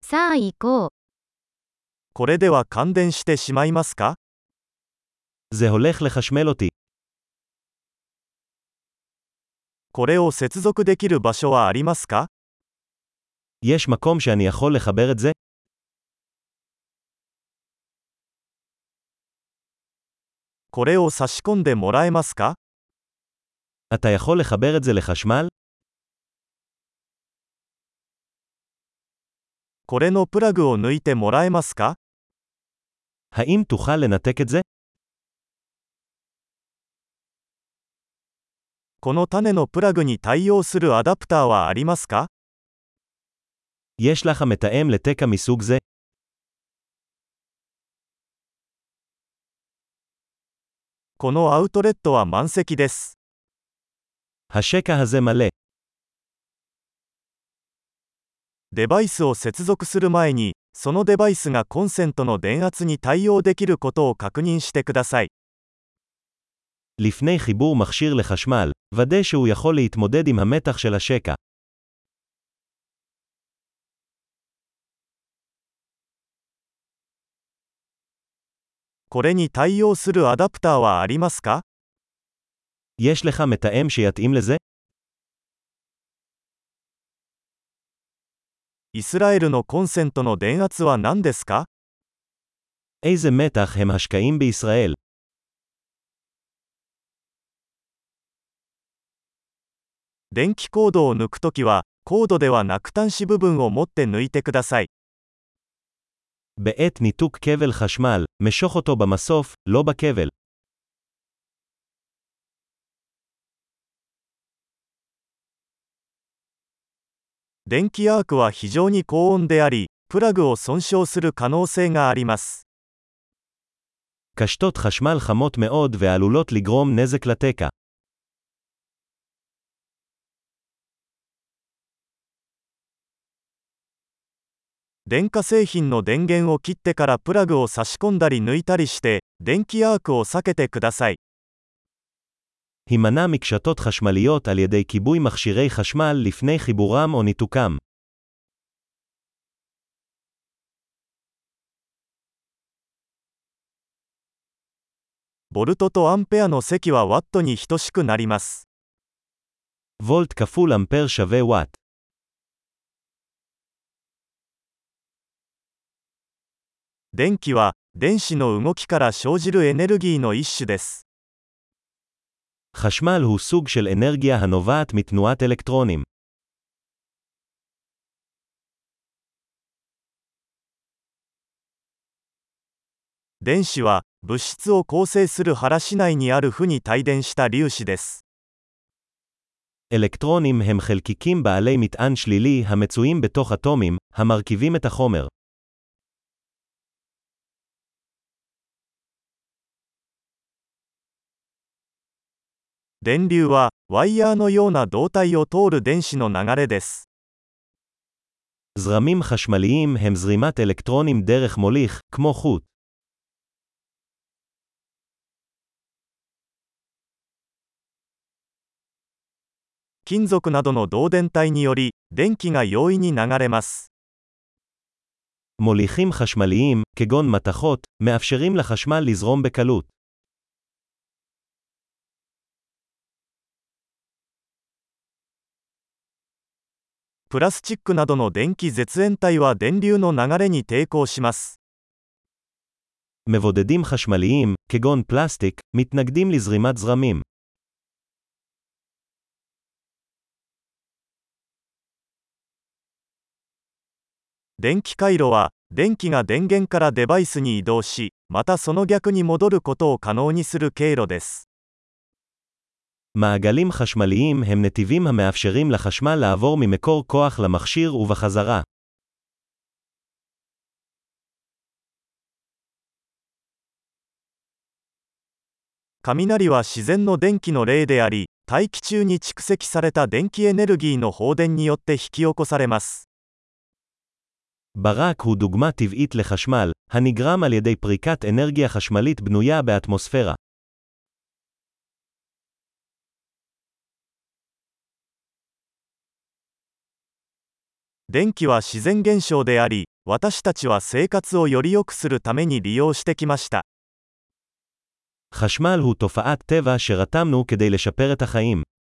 さあ行こう。 これでは感電してしまいますか？ זה הולך לחשמל אותי. これを接続できる場所はありますか？ יש מקום שאני יכול לחבר את זה? これを差し込んでもらえますか？ אתה יכול לחבר את זה לחשמל? これのプラグを抜いてもらえますか？ האם תוכל לנתק את זה? この種のプラグに対応するアダプターはありますか？ יש לך מתאם לתקע מסוג זה? このアウトレットは満席です。 השקע הזה מלא. デバイスを接続する前に、そのデバイスがコンセントの電圧に対応できることを確認してください。 לפני חיבור מכשיר לחשמל, ודא שהוא יכול להתמודד עם המתח של השקע. これに対応するアダプターはありますか？ יש לך מתאם שיתאים לזה? イスラエルのコンセントの電圧は何ですか？ איזה מתח הם השקעים בישראל? 電気コードを抜くときは、コードではなく端子部分を持って抜いてください。 בעת ניתוק כבל חשמל, משוך אותו במסוף, לא בכבל. 電気アークは非常に高温であり、プラグを損傷する可能性があります。 קשתות חשמל חמות מאוד ועלולות לגרום נזק לתקע. 電化製品の電源を切ってからプラグを差し込んだり抜いたりして、電気アークを避けてください。 הימנע מקשתות חשמליות על ידי כיבוי מכשירי חשמל לפני חיבורם או ניתוקם. ボルトとアンペアの積はワットに等しくなります。 וולט כפול אמפר שווה וואט. 電気は電子の動きから生じるエネルギーの一種です。 חשמל הוא סוג של אנרגיה הנובעת מתנועת אלקטרונים. 電子は物質を構成する原子内にある負に帯電した粒子です。 אלקטרונים הם חלקיקים בעלי מטען שלילי המצויים בתוך אטומים, המרכיבים את החומר. 電流はワイヤーのような導体を通る電子の流れです。 זרמים חשמליים הם זרימת אלקטרונים דרך מוליך, כמו חוט. 金属などの導電体により、電気が容易に流れます。 מוליכים חשמליים, כגון מתכות, מאפשרים לחשמל לזרום בקלות. プラスチックなどの電気絶縁体は電流の流れに抵抗します。 מבודדים חשמליים, כגון פלסטיק, מתנגדים לזרימת זרמים. 電気回路は電気が電源からデバイスに移動し、またその逆に戻ることを可能にする経路です。 מעגלים חשמליים הם נתיבים המאפשרים לחשמל לעבור ממקור כוח למכשיר ובחזרה. 雷は自然の電気の例であり、大気中に蓄積された電気エネルギーの放電によって引き起こされます。 ברק הוא דוגמה טבעית לחשמל, הנגרם על ידי פריקת אנרגיה חשמלית בנויה באטמוספירה. 電気は自然現象であり、私たちは生活をより良くするために利用してきました。 חשמל הוא תופעת טבע שרתמנו כדי לשפר את החיים.